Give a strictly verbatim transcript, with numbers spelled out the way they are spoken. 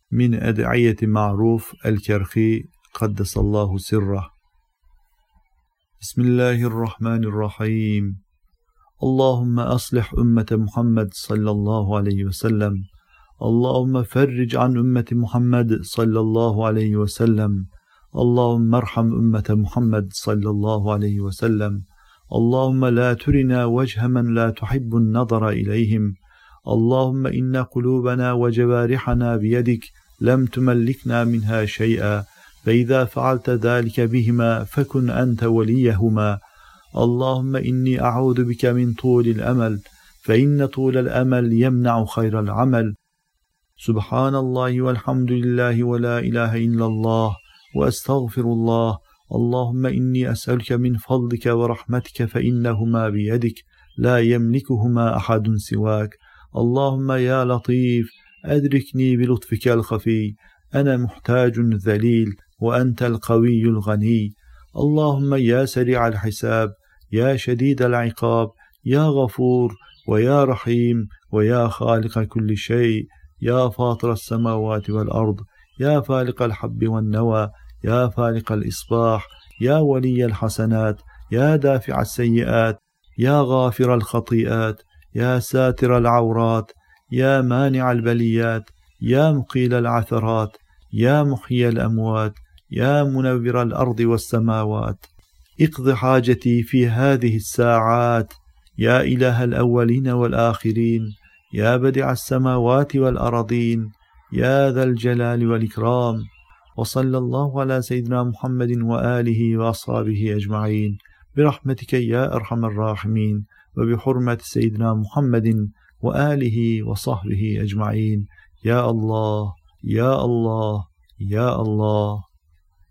من أدعية معروف الكرخي قدس الله سره. بسم الله الرحمن الرحيم. اللهم أصلح أمة محمد صلى الله عليه وسلم. اللهم فرج عن أمة محمد صلى الله عليه وسلم. اللهم ارحم أمة محمد صلى الله عليه وسلم. اللهم لا ترنا وجه من لا تحب النظر إليهم. اللهم إن قلوبنا وجوارحنا بيدك لم تملكنا منها شيئا، فإذا فعلت ذلك بهما فكن أنت وليهما. اللهم إني أعوذ بك من طول الأمل، فإن طول الأمل يمنع خير العمل. سبحان الله والحمد لله ولا إله إلا الله وأستغفر الله. اللهم إني أسألك من فضلك ورحمتك فإنهما بيدك لا يملكهما أحد سواك. اللهم يا لطيف أدركني بلطفك الخفي، أنا محتاج ذليل وأنت القوي الغني. اللهم يا سريع الحساب، يا شديد العقاب، يا غفور ويا رحيم ويا خالق كل شيء، يا فاطر السماوات والأرض، يا فالق الحب والنوى، يا فالق الإصباح، يا ولي الحسنات، يا دافع السيئات، يا غافر الخطيئات، يا ساتر العورات، يا مانع البليات، يا مقيل العثرات، يا محيي الأموات، يا منور الأرض والسماوات. اقض حاجتي في هذه الساعات، يا إله الأولين والآخرين، يا بديع السماوات والأرضين، يا ذا الجلال والإكرام. وصلى الله على سيدنا محمد وآله وأصحابه أجمعين برحمتك يا أرحم الراحمين، وبحرمة سيدنا محمد وآله وصحبه أجمعين. يا الله يا الله يا الله.